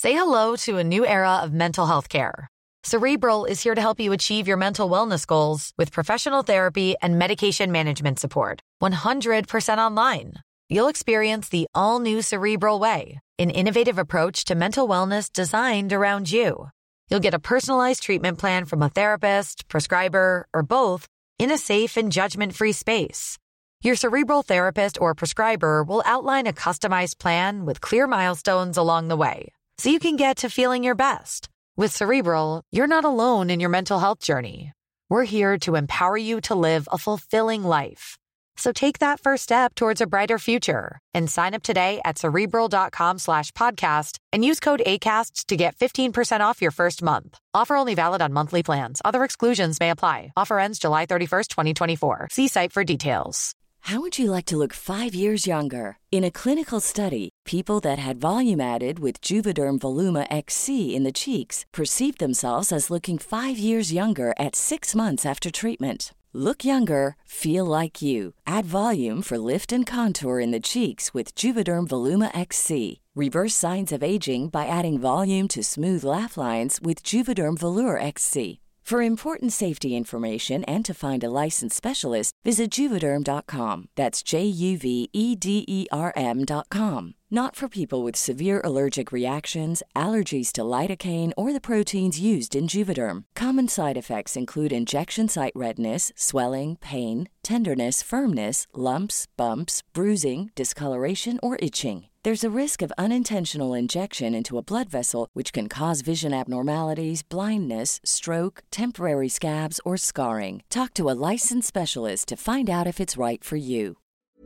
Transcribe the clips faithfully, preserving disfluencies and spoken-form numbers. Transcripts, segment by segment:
Say hello to a new era of mental health care. Cerebral is here to help you achieve your mental wellness goals with professional therapy and medication management support. one hundred percent online. You'll experience the all-new Cerebral Way, an innovative approach to mental wellness designed around you. You'll get a personalized treatment plan from a therapist, prescriber, or both in a safe and judgment-free space. Your Cerebral therapist or prescriber will outline a customized plan with clear milestones along the way, so you can get to feeling your best. With Cerebral, you're not alone in your mental health journey. We're here to empower you to live a fulfilling life. So take that first step towards a brighter future and sign up today at Cerebral.com slash podcast and use code ACAST to get fifteen percent off your first month. Offer only valid on monthly plans. Other exclusions may apply. Offer ends July thirty-first, twenty twenty-four. See site for details. How would you like to look five years younger? In a clinical study, people that had volume added with Juvederm Voluma X C in the cheeks perceived themselves as looking five years younger at six months after treatment. Look younger, feel like you. Add volume for lift and contour in the cheeks with Juvederm Voluma X C. Reverse signs of aging by adding volume to smooth laugh lines with Juvederm Volure X C. For important safety information and to find a licensed specialist, visit Juvederm dot com. That's J U V E D E R M dot com. Not for people with severe allergic reactions, allergies to lidocaine, or the proteins used in Juvederm. Common side effects include injection site redness, swelling, pain, tenderness, firmness, lumps, bumps, bruising, discoloration, or itching. There's a risk of unintentional injection into a blood vessel, which can cause vision abnormalities, blindness, stroke, temporary scabs, or scarring. Talk to a licensed specialist to find out if it's right for you.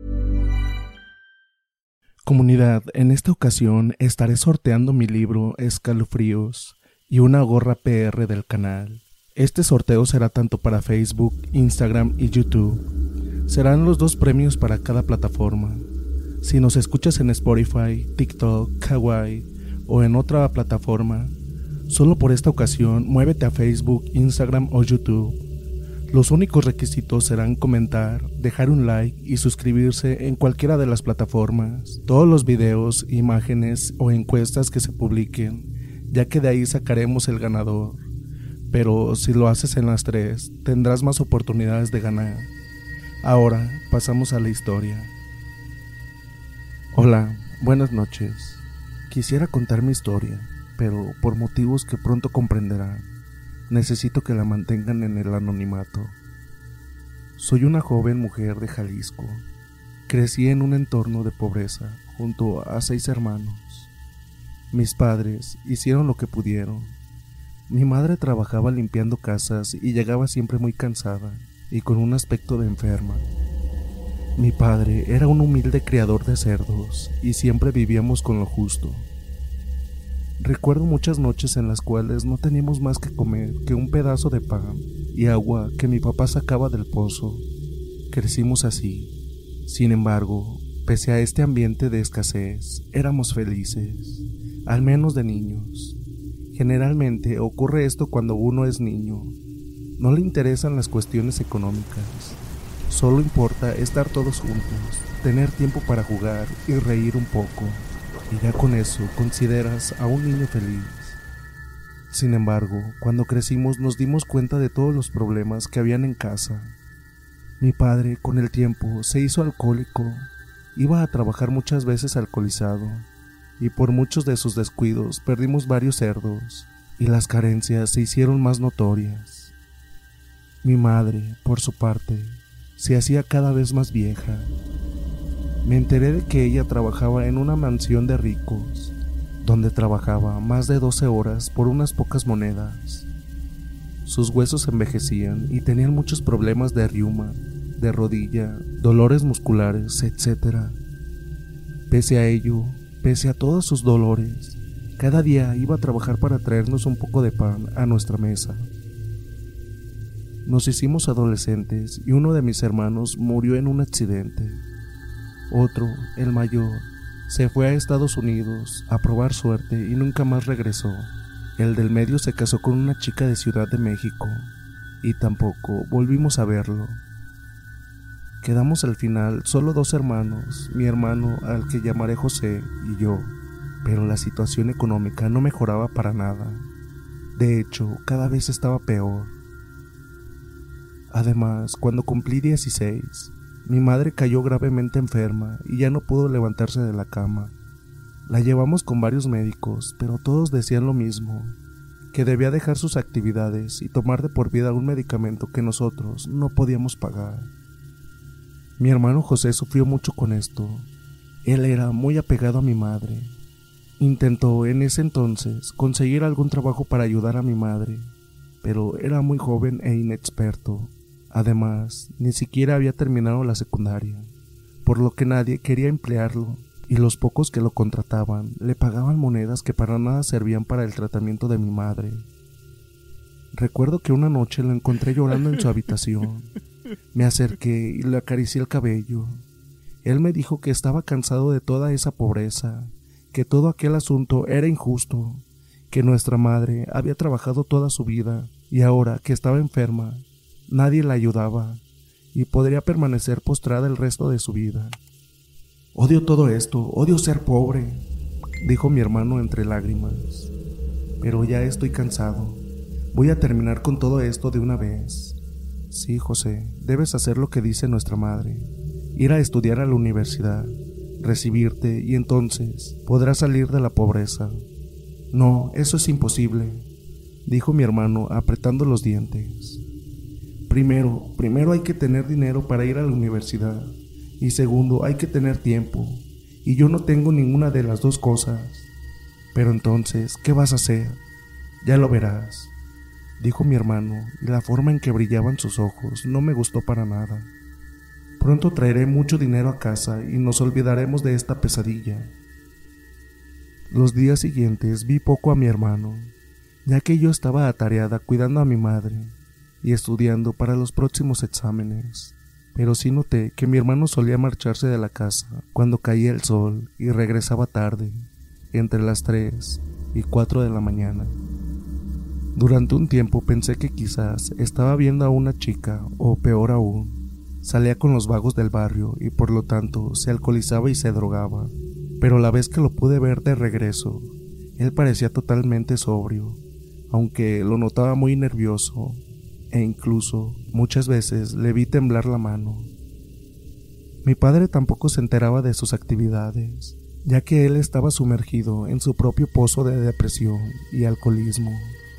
Comunidad, en esta ocasión estaré sorteando mi libro Escalofríos y una gorra P R del canal. Este sorteo será tanto para Facebook, Instagram y YouTube. Serán los dos premios para cada plataforma. Si nos escuchas en Spotify, TikTok, Kawaii o en otra plataforma, solo por esta ocasión muévete a Facebook, Instagram o YouTube. Los únicos requisitos serán comentar, dejar un like y suscribirse en cualquiera de las plataformas. Todos los videos, imágenes o encuestas que se publiquen, ya que de ahí sacaremos el ganador. Pero si lo haces en las tres, tendrás más oportunidades de ganar. Ahora pasamos a la historia. Hola, buenas noches. Quisiera contar mi historia, pero por motivos que pronto comprenderán, necesito que la mantengan en el anonimato. Soy una joven mujer de Jalisco. Crecí en un entorno de pobreza junto a seis hermanos. Mis padres hicieron lo que pudieron. Mi madre trabajaba limpiando casas y llegaba siempre muy cansada y con un aspecto de enferma. Mi padre era un humilde criador de cerdos y siempre vivíamos con lo justo. Recuerdo muchas noches en las cuales no teníamos más que comer que un pedazo de pan y agua que mi papá sacaba del pozo. Crecimos así. Sin embargo, pese a este ambiente de escasez, éramos felices, al menos de niños. Generalmente ocurre esto cuando uno es niño. No le interesan las cuestiones económicas. Solo importa estar todos juntos, tener tiempo para jugar y reír un poco. Y ya con eso consideras a un niño feliz. Sin embargo, cuando crecimos nos dimos cuenta de todos los problemas que habían en casa. Mi padre, con el tiempo, se hizo alcohólico. Iba a trabajar muchas veces alcoholizado. Y por muchos de sus descuidos perdimos varios cerdos. Y las carencias se hicieron más notorias. Mi madre, por su parte, se hacía cada vez más vieja. Me enteré de que ella trabajaba en una mansión de ricos, donde trabajaba más de doce horas por unas pocas monedas. Sus huesos envejecían y tenían muchos problemas de riuma, de rodilla, dolores musculares, etcétera. Pese a ello, pese a todos sus dolores, cada día iba a trabajar para traernos un poco de pan a nuestra mesa. Nos hicimos adolescentes y uno de mis hermanos murió en un accidente. Otro, el mayor, se fue a Estados Unidos a probar suerte y nunca más regresó. El del medio se casó con una chica de Ciudad de México y tampoco volvimos a verlo. Quedamos al final solo dos hermanos, mi hermano al que llamaré José y yo. pero la situación económica no mejoraba para nada. De hecho, cada vez estaba peor. Además, cuando cumplí dieciséis, mi madre cayó gravemente enferma y ya no pudo levantarse de la cama. La llevamos con varios médicos, pero todos decían lo mismo, que debía dejar sus actividades y tomar de por vida un medicamento que nosotros no podíamos pagar. Mi hermano José sufrió mucho con esto. Él era muy apegado a mi madre. Intentó en ese entonces conseguir algún trabajo para ayudar a mi madre, pero era muy joven e inexperto. Además, ni siquiera había terminado la secundaria, por lo que nadie quería emplearlo, y los pocos que lo contrataban le pagaban monedas que para nada servían para el tratamiento de mi madre. Recuerdo que una noche lo encontré llorando en su habitación. Me acerqué y le acaricié el cabello. Él me dijo que estaba cansado de toda esa pobreza, que todo aquel asunto era injusto, que nuestra madre había trabajado toda su vida y ahora que estaba enferma, nadie la ayudaba y podría permanecer postrada el resto de su vida. Odio todo esto, odio ser pobre, dijo mi hermano entre lágrimas. Pero ya estoy cansado. Voy a terminar con todo esto de una vez. Sí, José, debes hacer lo que dice nuestra madre. Ir a estudiar a la universidad, recibirte y entonces podrás salir de la pobreza. No, eso es imposible, dijo mi hermano apretando los dientes. Primero, primero hay que tener dinero para ir a la universidad. Y segundo, hay que tener tiempo, y yo no tengo ninguna de las dos cosas. Pero entonces, ¿qué vas a hacer? Ya lo verás, dijo mi hermano, y la forma en que brillaban sus ojos no me gustó para nada. Pronto traeré mucho dinero a casa y nos olvidaremos de esta pesadilla. Los días siguientes vi poco a mi hermano, ya que yo estaba atareada cuidando a mi madre y estudiando para los próximos exámenes. Pero sí noté que mi hermano solía marcharse de la casa cuando caía el sol y regresaba tarde, entre las tres y cuatro de la mañana. Durante un tiempo pensé que quizás estaba viendo a una chica, o peor aún, salía con los vagos del barrio y por lo tanto se alcoholizaba y se drogaba. Pero la vez que lo pude ver de regreso, él parecía totalmente sobrio, aunque lo notaba muy nervioso. E incluso muchas veces le vi temblar la mano. Mi padre tampoco se enteraba de sus actividades, ya que él estaba sumergido en su propio pozo de depresión y alcoholismo.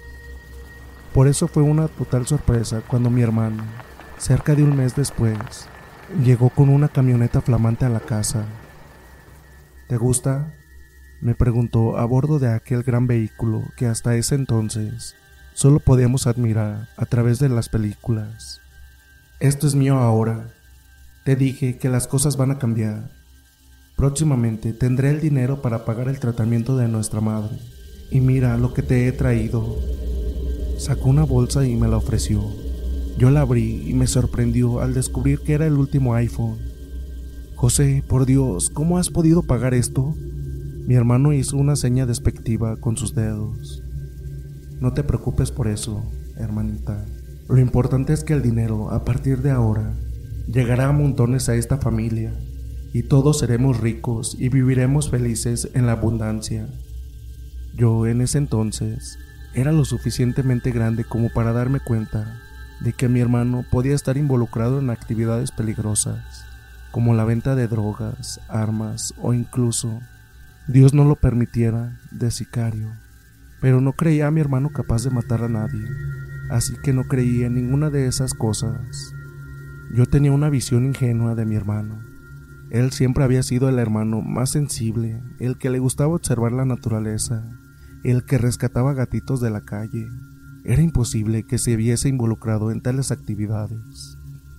Por eso fue una total sorpresa cuando mi hermano, cerca de un mes después, llegó con una camioneta flamante a la casa. ¿Te gusta?, me preguntó a bordo de aquel gran vehículo que hasta ese entonces solo podíamos admirar a través de las películas. Esto es mío ahora. Te dije que las cosas van a cambiar. Próximamente tendré el dinero para pagar el tratamiento de nuestra madre. Y mira lo que te he traído. Sacó una bolsa y me la ofreció. Yo la abrí y me sorprendió al descubrir que era el último iPhone. José, por Dios, ¿cómo has podido pagar esto? Mi hermano hizo una seña despectiva con sus dedos. No te preocupes por eso, hermanita. Lo importante es que el dinero, a partir de ahora, llegará a montones a esta familia, y todos seremos ricos y viviremos felices en la abundancia. Yo, en ese entonces, era lo suficientemente grande como para darme cuenta de que mi hermano podía estar involucrado en actividades peligrosas, como la venta de drogas, armas o incluso, Dios no lo permitiera, de sicario. Pero no creía a mi hermano capaz de matar a nadie, así que no creía en ninguna de esas cosas. Yo tenía una visión ingenua de mi hermano. Él siempre había sido el hermano más sensible, el que le gustaba observar la naturaleza, el que rescataba gatitos de la calle. Era imposible que se viese involucrado en tales actividades.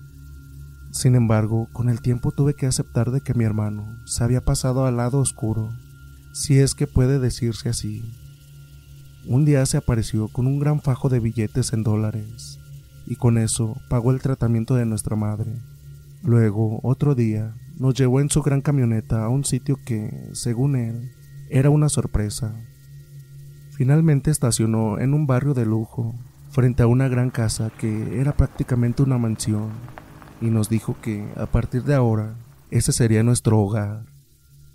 Sin embargo, con el tiempo tuve que aceptar de que mi hermano se había pasado al lado oscuro, si es que puede decirse así. Un día se apareció con un gran fajo de billetes en dólares, y con eso pagó el tratamiento de nuestra madre. Luego, otro día, nos llevó en su gran camioneta a un sitio que, según él, era una sorpresa. Finalmente estacionó en un barrio de lujo, frente a una gran casa que era prácticamente una mansión, y nos dijo que, a partir de ahora, ese sería nuestro hogar.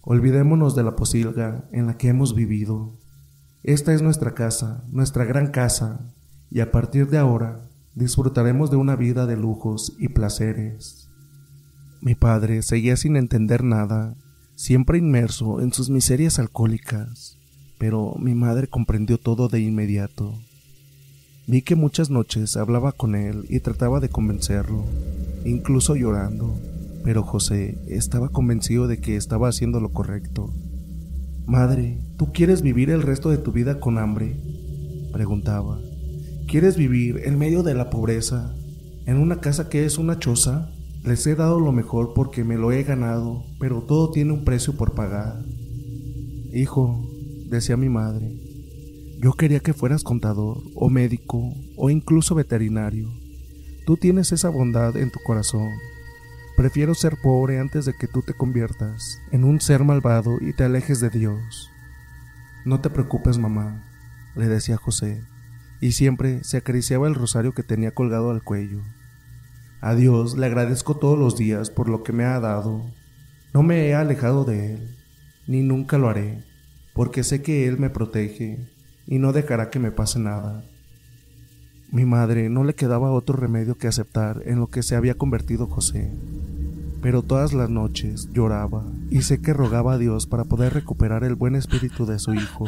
Olvidémonos de la posilga en la que hemos vivido. Esta es nuestra casa, nuestra gran casa, y a partir de ahora disfrutaremos de una vida de lujos y placeres. Mi padre seguía sin entender nada, siempre inmerso en sus miserias alcohólicas, pero mi madre comprendió todo de inmediato. Vi que muchas noches hablaba con él y trataba de convencerlo, incluso llorando, pero José estaba convencido de que estaba haciendo lo correcto. «Madre, ¿tú quieres vivir el resto de tu vida con hambre?», preguntaba. «¿Quieres vivir en medio de la pobreza, en una casa que es una choza? Les he dado lo mejor porque me lo he ganado, pero todo tiene un precio por pagar». «Hijo», decía mi madre, «yo quería que fueras contador, o médico, o incluso veterinario. Tú tienes esa bondad en tu corazón. Prefiero ser pobre antes de que tú te conviertas en un ser malvado y te alejes de Dios». «No te preocupes, mamá», le decía José, y siempre se acariciaba el rosario que tenía colgado al cuello. «A Dios le agradezco todos los días por lo que me ha dado. No me he alejado de Él, ni nunca lo haré, porque sé que Él me protege y no dejará que me pase nada». Mi madre no le quedaba otro remedio que aceptar en lo que se había convertido José, pero todas las noches lloraba y sé que rogaba a Dios para poder recuperar el buen espíritu de su hijo.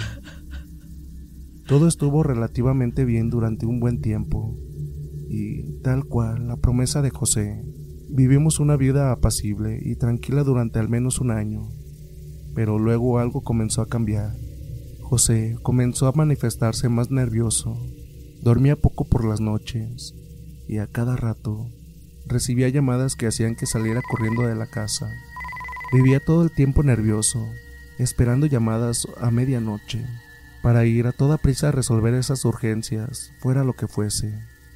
Todo estuvo relativamente bien durante un buen tiempo, y tal cual la promesa de José, vivimos una vida apacible y tranquila durante al menos un año, pero luego algo comenzó a cambiar. José comenzó a manifestarse más nervioso. Dormía poco por las noches y a cada rato recibía llamadas que hacían que saliera corriendo de la casa. Vivía todo el tiempo nervioso, esperando llamadas a medianoche para ir a toda prisa a resolver esas urgencias, fuera lo que fuese.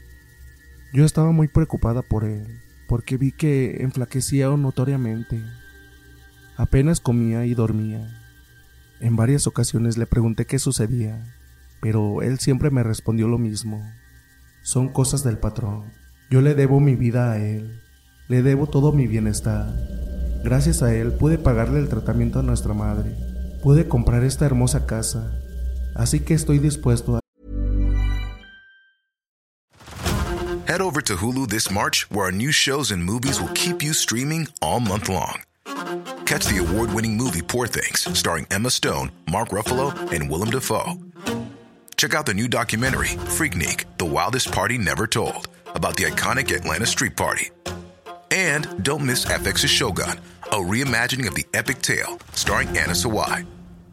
Yo estaba muy preocupada por él, porque vi que enflaquecía notoriamente. Apenas comía y dormía. En varias ocasiones le pregunté qué sucedía, pero él siempre me respondió lo mismo. «Son cosas del patrón. Yo le debo mi vida a él. Le debo todo mi bienestar. Gracias a él pude pagarle el tratamiento a nuestra madre. Pude comprar esta hermosa casa. Así que estoy dispuesto a...» Head over to Hulu this March, where our new shows and movies will keep you streaming all month long. Catch the award-winning movie Poor Things, starring Emma Stone, Mark Ruffalo, and Willem Dafoe. Check out the new documentary, Freaknik, The Wildest Party Never Told, about the iconic Atlanta Street Party. And don't miss F X's Shogun, a reimagining of the epic tale, starring Anna Sawai.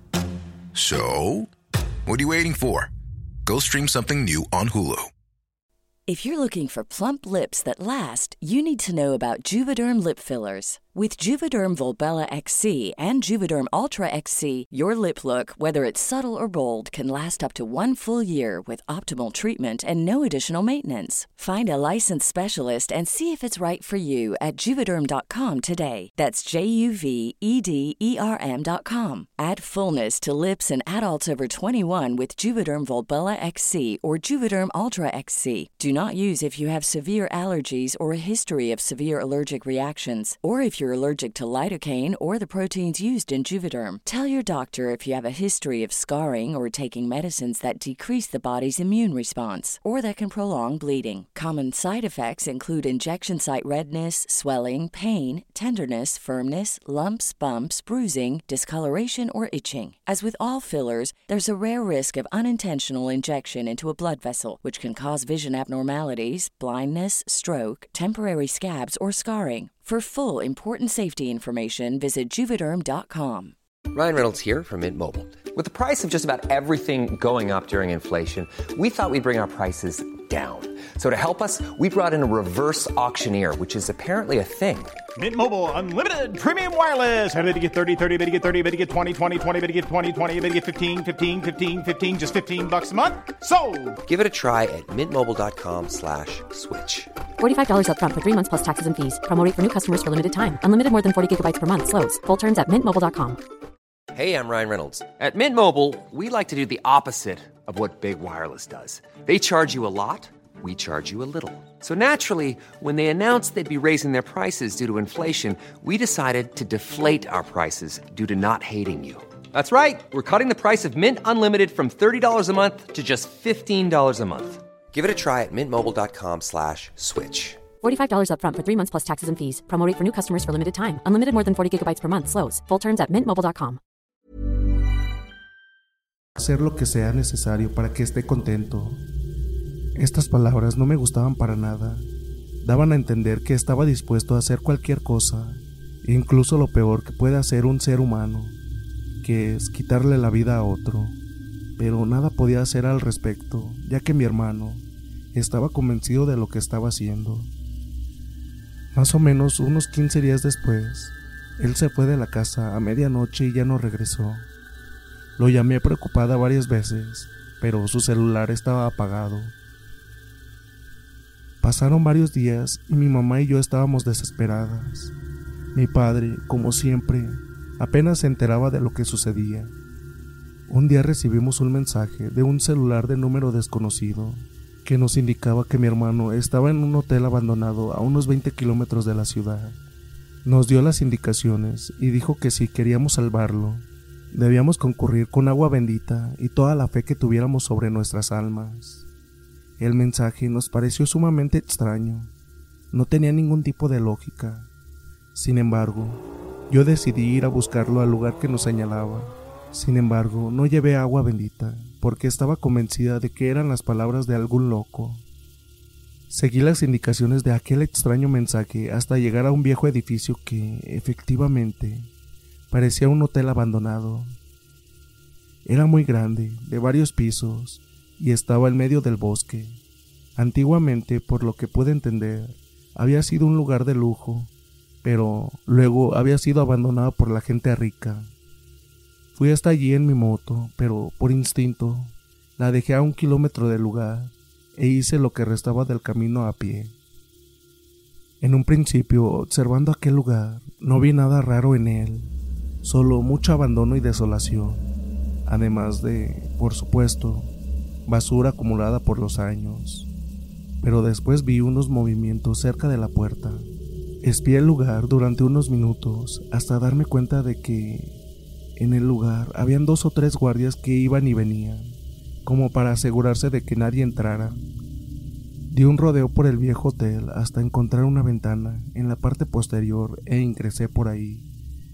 So, what are you waiting for? Go stream something new on Hulu. If you're looking for plump lips that last, you need to know about Juvederm lip fillers. With Juvederm Volbella X C and Juvederm Ultra X C, your lip look, whether it's subtle or bold, can last up to one full year with optimal treatment and no additional maintenance. Find a licensed specialist and see if it's right for you at Juvederm dot com today. That's J U V E D E R M dot com. Add fullness to lips in adults over twenty-one with Juvederm Volbella X C or Juvederm Ultra X C. Do not use if you have severe allergies or a history of severe allergic reactions, or if you're allergic to lidocaine or the proteins used in Juvederm. Tell your doctor if you have a history of scarring or taking medicines that decrease the body's immune response or that can prolong bleeding. Common side effects include injection site redness, swelling, pain, tenderness, firmness, lumps, bumps, bruising, discoloration, or itching. As with all fillers, there's a rare risk of unintentional injection into a blood vessel, which can cause vision abnormalities, blindness, stroke, temporary scabs, or scarring. For full, important safety information, visit Juvederm dot com. Ryan Reynolds here from Mint Mobile. With the price of just about everything going up during inflation, we thought we'd bring our prices down. So to help us, we brought in a reverse auctioneer, which is apparently a thing. Mint Mobile Unlimited Premium Wireless. How to get thirty, thirty, how to get thirty, how to get twenty, twenty, twenty, how to get twenty, twenty, how to get fifteen, fifteen, fifteen, fifteen, just fifteen bucks a month? Sold! Give it a try at mintmobile.com slash switch. forty-five dollars up front for three months plus taxes and fees. Promo rate for new customers for limited time. Unlimited more than forty gigabytes per month. Slows full terms at mint mobile dot com. Hey, I'm Ryan Reynolds. At Mint Mobile, we like to do the opposite of what Big Wireless does. They charge you a lot. we charge you a little. So naturally, when they announced they'd be raising their prices due to inflation, we decided to deflate our prices due to not hating you. That's right. We're cutting the price of Mint Unlimited from thirty dollars a month to just fifteen dollars a month. Give it a try at mintmobile.com slash switch. forty-five dollars up front for three months plus taxes and fees. Promo rate for new customers for limited time. Unlimited more than forty gigabytes per month. Slows full terms at mint mobile dot com. Hacer lo que sea necesario para que esté contento. Estas palabras no me gustaban para nada. Daban a entender que estaba dispuesto a hacer cualquier cosa, incluso lo peor que puede hacer un ser humano, que es quitarle la vida a otro. Pero nada podía hacer al respecto, ya que mi hermano estaba convencido de lo que estaba haciendo. Más o menos unos quince días después, él se fue de la casa a medianoche y ya no regresó. Lo llamé preocupada varias veces, pero su celular estaba apagado. Pasaron varios días y mi mamá y yo estábamos desesperadas. Mi padre, como siempre, apenas se enteraba de lo que sucedía. Un día recibimos un mensaje de un celular de número desconocido que nos indicaba que mi hermano estaba en un hotel abandonado a unos veinte kilómetros de la ciudad. Nos dio las indicaciones y dijo que si queríamos salvarlo, debíamos concurrir con agua bendita y toda la fe que tuviéramos sobre nuestras almas. El mensaje nos pareció sumamente extraño. No tenía ningún tipo de lógica. Sin embargo, yo decidí ir a buscarlo al lugar que nos señalaba. Sin embargo, no llevé agua bendita, porque estaba convencida de que eran las palabras de algún loco. Seguí las indicaciones de aquel extraño mensaje hasta llegar a un viejo edificio que, efectivamente, parecía un hotel abandonado. Era muy grande, de varios pisos, y estaba en medio del bosque. Antiguamente, por lo que pude entender, había sido un lugar de lujo, pero luego había sido abandonado por la gente rica. Fui hasta allí en mi moto, pero por instinto la dejé a un kilómetro del lugar e hice lo que restaba del camino a pie. En un principio, observando aquel lugar, no vi nada raro en él, solo mucho abandono y desolación, además de, por supuesto, basura acumulada por los años. Pero después vi unos movimientos cerca de la puerta. Espié el lugar durante unos minutos hasta darme cuenta de que en el lugar habían dos o tres guardias que iban y venían, como para asegurarse de que nadie entrara. Di un rodeo por el viejo hotel hasta encontrar una ventana en la parte posterior e ingresé por ahí.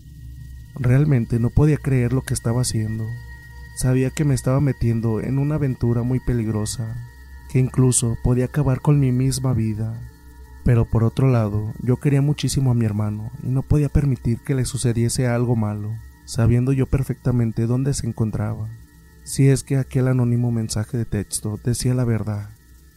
Realmente no podía creer lo que estaba haciendo. Sabía que me estaba metiendo en una aventura muy peligrosa, que incluso podía acabar con mi misma vida. Pero por otro lado, yo quería muchísimo a mi hermano y no podía permitir que le sucediese algo malo, sabiendo yo perfectamente dónde se encontraba, si es que aquel anónimo mensaje de texto decía la verdad.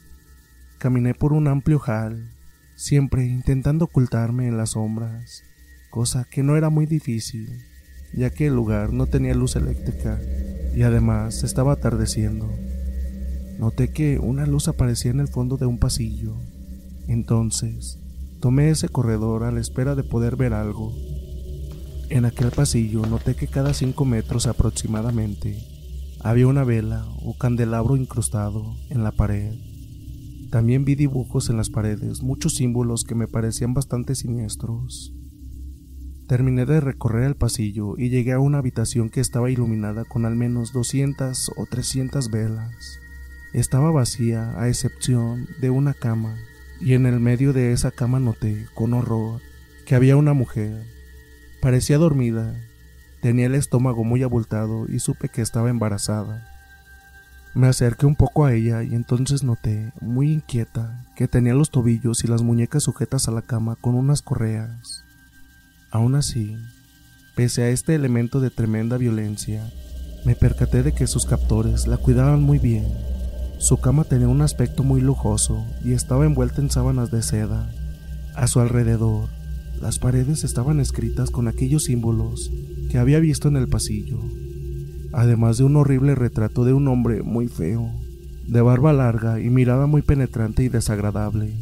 Caminé por un amplio hall, siempre intentando ocultarme en las sombras, cosa que no era muy difícil, ya que el lugar no tenía luz eléctrica y además estaba atardeciendo. Noté que una luz aparecía en el fondo de un pasillo. Entonces, tomé ese corredor a la espera de poder ver algo. En aquel pasillo noté que cada cinco metros aproximadamente había una vela o candelabro incrustado en la pared. También vi dibujos en las paredes, muchos símbolos que me parecían bastante siniestros. Terminé de recorrer el pasillo y llegué a una habitación que estaba iluminada con al menos doscientas o trescientas velas. Estaba vacía a excepción de una cama, y en el medio de esa cama noté, con horror, que había una mujer. Parecía dormida, tenía el estómago muy abultado y supe que estaba embarazada. Me acerqué un poco a ella y entonces noté, muy inquieta, que tenía los tobillos y las muñecas sujetas a la cama con unas correas. Aún así, pese a este elemento de tremenda violencia, me percaté de que sus captores la cuidaban muy bien. Su cama tenía un aspecto muy lujoso y estaba envuelta en sábanas de seda. A su alrededor, las paredes estaban escritas con aquellos símbolos que había visto en el pasillo, además de un horrible retrato de un hombre muy feo, de barba larga y mirada muy penetrante y desagradable.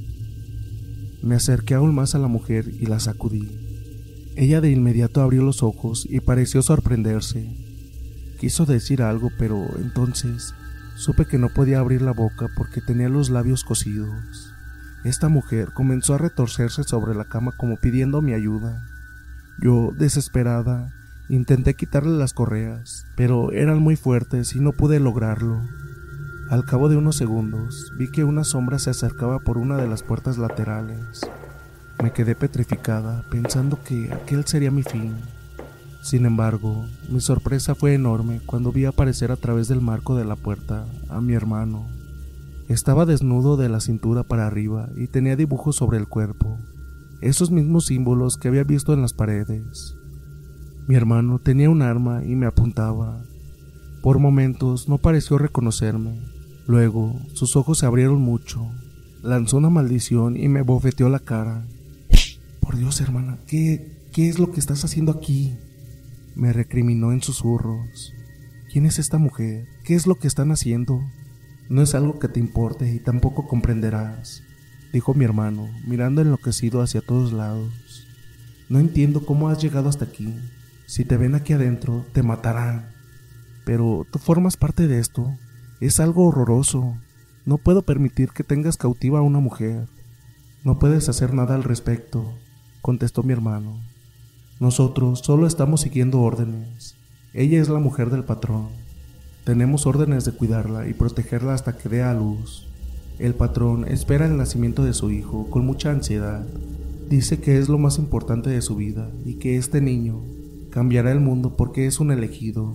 Me acerqué aún más a la mujer y la sacudí. Ella de inmediato abrió los ojos y pareció sorprenderse. Quiso decir algo, pero entonces Supe que no podía abrir la boca porque tenía los labios cosidos. Esta mujer comenzó a retorcerse sobre la cama como pidiendo mi ayuda. Yo, desesperada, intenté quitarle las correas, pero eran muy fuertes y no pude lograrlo. Al cabo de unos segundos, vi que una sombra se acercaba por una de las puertas laterales. Me quedé petrificada, pensando que aquel sería mi fin. Sin embargo, mi sorpresa fue enorme cuando vi aparecer a través del marco de la puerta a mi hermano. Estaba desnudo de la cintura para arriba y tenía dibujos sobre el cuerpo, esos mismos símbolos que había visto en las paredes. Mi hermano tenía un arma y me apuntaba. Por momentos no pareció reconocerme. Luego, sus ojos se abrieron mucho. Lanzó una maldición y me bofeteó la cara. Por Dios, hermana, ¿qué, qué es lo que estás haciendo aquí? Me recriminó en susurros. ¿Quién es esta mujer? ¿Qué es lo que están haciendo? No es algo que te importe y tampoco comprenderás, dijo mi hermano, mirando enloquecido hacia todos lados. No entiendo cómo has llegado hasta aquí. Si te ven aquí adentro, te matarán. Pero tú formas parte de esto. Es algo horroroso. No puedo permitir que tengas cautiva a una mujer. No puedes hacer nada al respecto, contestó mi hermano. Nosotros solo estamos siguiendo órdenes. Ella es la mujer del patrón. Tenemos órdenes de cuidarla y protegerla hasta que dé a luz. El patrón espera el nacimiento de su hijo con mucha ansiedad. Dice que es lo más importante de su vida y que este niño cambiará el mundo porque es un elegido.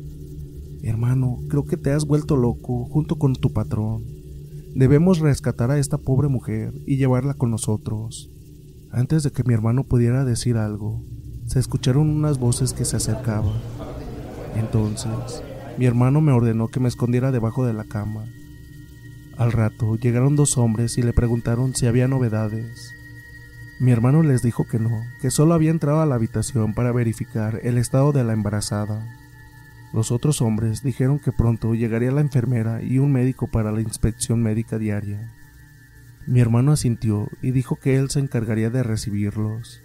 Hermano, creo que te has vuelto loco junto con tu patrón. Debemos rescatar a esta pobre mujer y llevarla con nosotros. Antes de que mi hermano pudiera decir algo, se escucharon unas voces que se acercaban. Entonces, mi hermano me ordenó que me escondiera debajo de la cama. Al rato llegaron dos hombres y le preguntaron si había novedades. Mi hermano les dijo que no, que solo había entrado a la habitación para verificar el estado de la embarazada. Los otros hombres dijeron que pronto llegaría la enfermera y un médico para la inspección médica diaria. Mi hermano asintió y dijo que él se encargaría de recibirlos.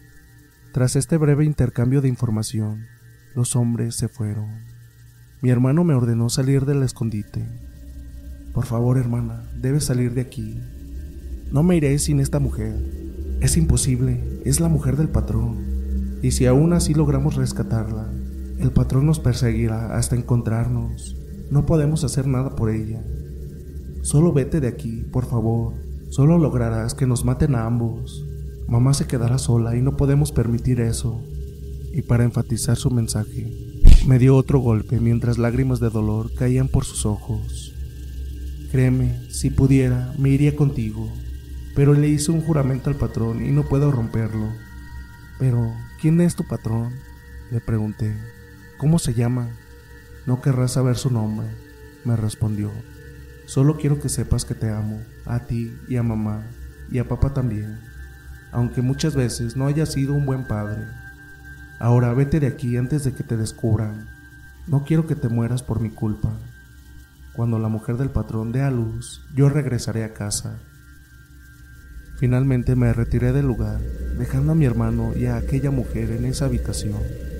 Tras este breve intercambio de información, los hombres se fueron. Mi hermano me ordenó salir del escondite. Por favor, hermana, debes salir de aquí. No me iré sin esta mujer. Es imposible, es la mujer del patrón. Y si aún así logramos rescatarla, el patrón nos perseguirá hasta encontrarnos. No podemos hacer nada por ella. Solo vete de aquí, por favor. Solo lograrás que nos maten a ambos. Mamá se quedará sola y no podemos permitir eso. Y para enfatizar su mensaje, me dio otro golpe mientras lágrimas de dolor caían por sus ojos. Créeme, si pudiera, me iría contigo, pero le hice un juramento al patrón y no puedo romperlo. Pero, ¿quién es tu patrón?, le pregunté. ¿Cómo se llama? No querrás saber su nombre, me respondió. Solo quiero que sepas que te amo, a ti y a mamá, y a papá también, aunque muchas veces no haya sido un buen padre. Ahora vete de aquí antes de que te descubran. No quiero que te mueras por mi culpa. Cuando la mujer del patrón dé a luz, yo regresaré a casa. Finalmente me retiré del lugar, dejando a mi hermano y a aquella mujer en esa habitación.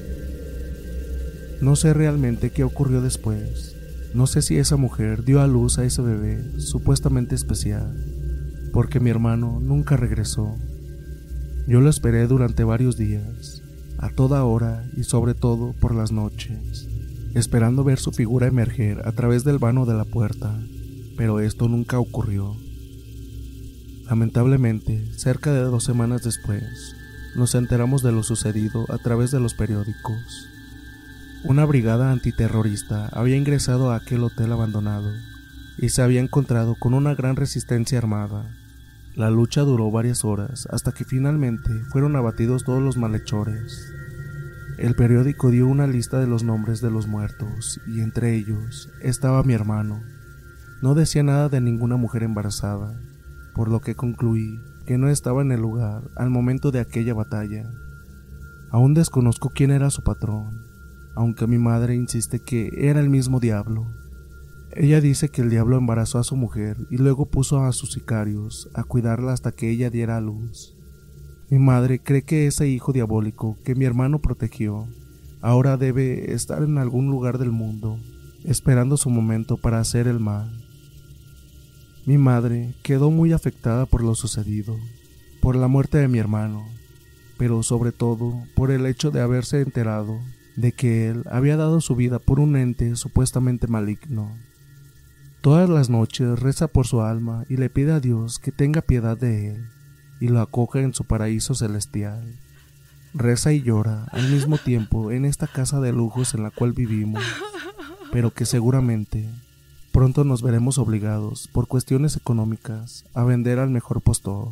No sé realmente qué ocurrió después. No sé si esa mujer dio a luz a ese bebé supuestamente especial, porque mi hermano nunca regresó. Yo lo esperé durante varios días, a toda hora y sobre todo por las noches, esperando ver su figura emerger a través del vano de la puerta, pero esto nunca ocurrió. Lamentablemente, cerca de dos semanas después, nos enteramos de lo sucedido a través de los periódicos. Una brigada antiterrorista había ingresado a aquel hotel abandonado y se había encontrado con una gran resistencia armada. La lucha duró varias horas hasta que finalmente fueron abatidos todos los malhechores. El periódico dio una lista de los nombres de los muertos y entre ellos estaba mi hermano. No decía nada de ninguna mujer embarazada, por lo que concluí que no estaba en el lugar al momento de aquella batalla. Aún desconozco quién era su patrón, aunque mi madre insiste que era el mismo diablo. Ella dice que el diablo embarazó a su mujer y luego puso a sus sicarios a cuidarla hasta que ella diera a luz. Mi madre cree que ese hijo diabólico que mi hermano protegió ahora debe estar en algún lugar del mundo, esperando su momento para hacer el mal. Mi madre quedó muy afectada por lo sucedido, por la muerte de mi hermano, pero sobre todo por el hecho de haberse enterado de que él había dado su vida por un ente supuestamente maligno. Todas las noches reza por su alma y le pide a Dios que tenga piedad de él y lo acoja en su paraíso celestial. Reza y llora al mismo tiempo en esta casa de lujos en la cual vivimos, pero que seguramente pronto nos veremos obligados, por cuestiones económicas, a vender al mejor postor.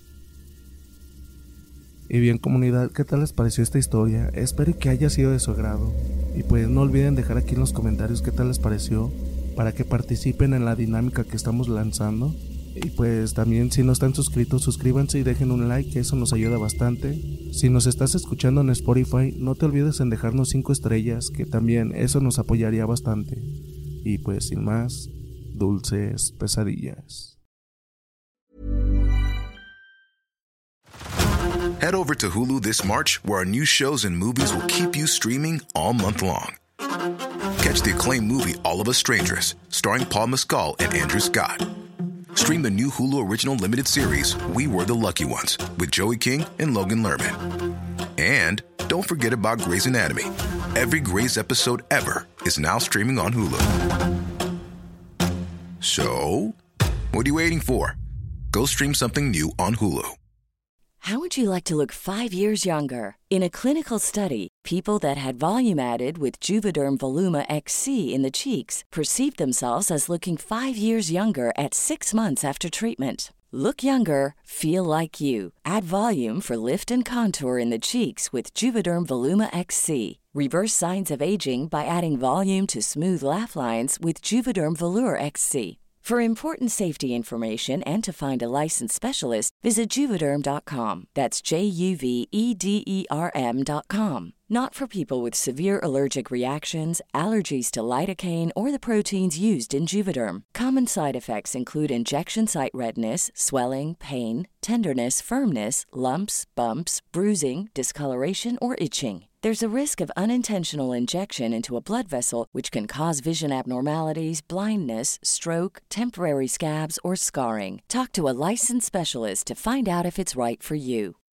Y bien, comunidad, ¿qué tal les pareció esta historia? Espero que haya sido de su agrado. Y pues no olviden dejar aquí en los comentarios qué tal les pareció, para que participen en la dinámica que estamos lanzando. Y pues también, si no están suscritos, suscríbanse y dejen un like, que eso nos ayuda bastante. Si nos estás escuchando en Spotify, no te olvides en dejarnos cinco estrellas, que también eso nos apoyaría bastante. Y pues sin más, dulces pesadillas. Head over to Hulu this March, where our new shows and movies will keep you streaming all month long. Catch the acclaimed movie All of Us Strangers, starring Paul Mescal and Andrew Scott. Stream the new Hulu original limited series We Were the Lucky Ones with Joey King and Logan Lerman. And don't forget about Grey's Anatomy. Every Grey's episode ever is now streaming on Hulu. So, what are you waiting for? Go stream something new on Hulu. How would you like to look five years younger? In a clinical study, people that had volume added with Juvederm Voluma X C in the cheeks perceived themselves as looking five years younger at six months after treatment. Look younger, feel like you. Add volume for lift and contour in the cheeks with Juvederm Voluma X C. Reverse signs of aging by adding volume to smooth laugh lines with Juvederm Volure X C. For important safety information and to find a licensed specialist, visit Juvederm dot com. That's J U V E D E R M dot com. Not for people with severe allergic reactions, allergies to lidocaine, or the proteins used in Juvederm. Common side effects include injection site redness, swelling, pain, tenderness, firmness, lumps, bumps, bruising, discoloration, or itching. There's a risk of unintentional injection into a blood vessel, which can cause vision abnormalities, blindness, stroke, temporary scabs, or scarring. Talk to a licensed specialist to find out if it's right for you.